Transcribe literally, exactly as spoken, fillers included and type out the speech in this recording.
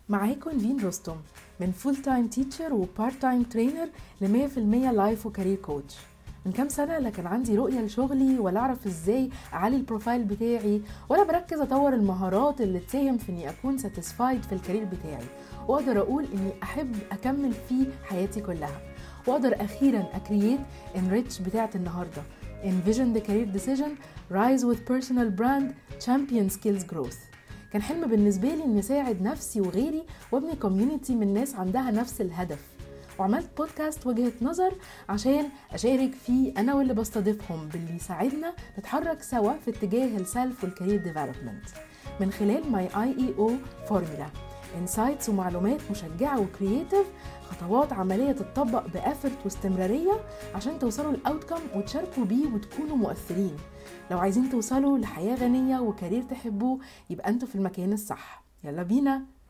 معاكم نيفين رستم من فول تايم تيتشر وبارت تايم ترينر ل مية في المية لايف وكارير كوتش. من كام سنة لا كان عندي رؤية لشغلي ولا أعرف إزاي أعلي البروفايل بتاعي ولا بركز أطور المهارات اللي تساهم في إني أكون ساتيسفايد في الكارير بتاعي وأقدر أقول إني أحب أكمل فيه حياتي كلها وأقدر أخيرا أكرييت enrich بتاعة النهاردة envision the career decision rise with personal brand champion skills growth. كان حلم بالنسبة لي إني أساعد نفسي وغيري وابني كوميونيتي من ناس عندها نفس الهدف، وعملت بودكاست وجهة نظر عشان أشارك فيه أنا واللي بستضيفهم باللي يساعدنا نتحرك سوا في اتجاه السلف والكارير ديفلوبمنت من خلال ماي آي إي أو فورمولا، انسايتس ومعلومات مشجعة وكرياتيف، خطوات عملية تتطبق بأفرت واستمرارية عشان توصلوا الأوتكم وتشاركوا بيه وتكونوا مؤثرين. لو عايزين توصلوا لحياة غنية وكارير تحبوه يبقى أنتوا في المكان الصح. يلا بينا.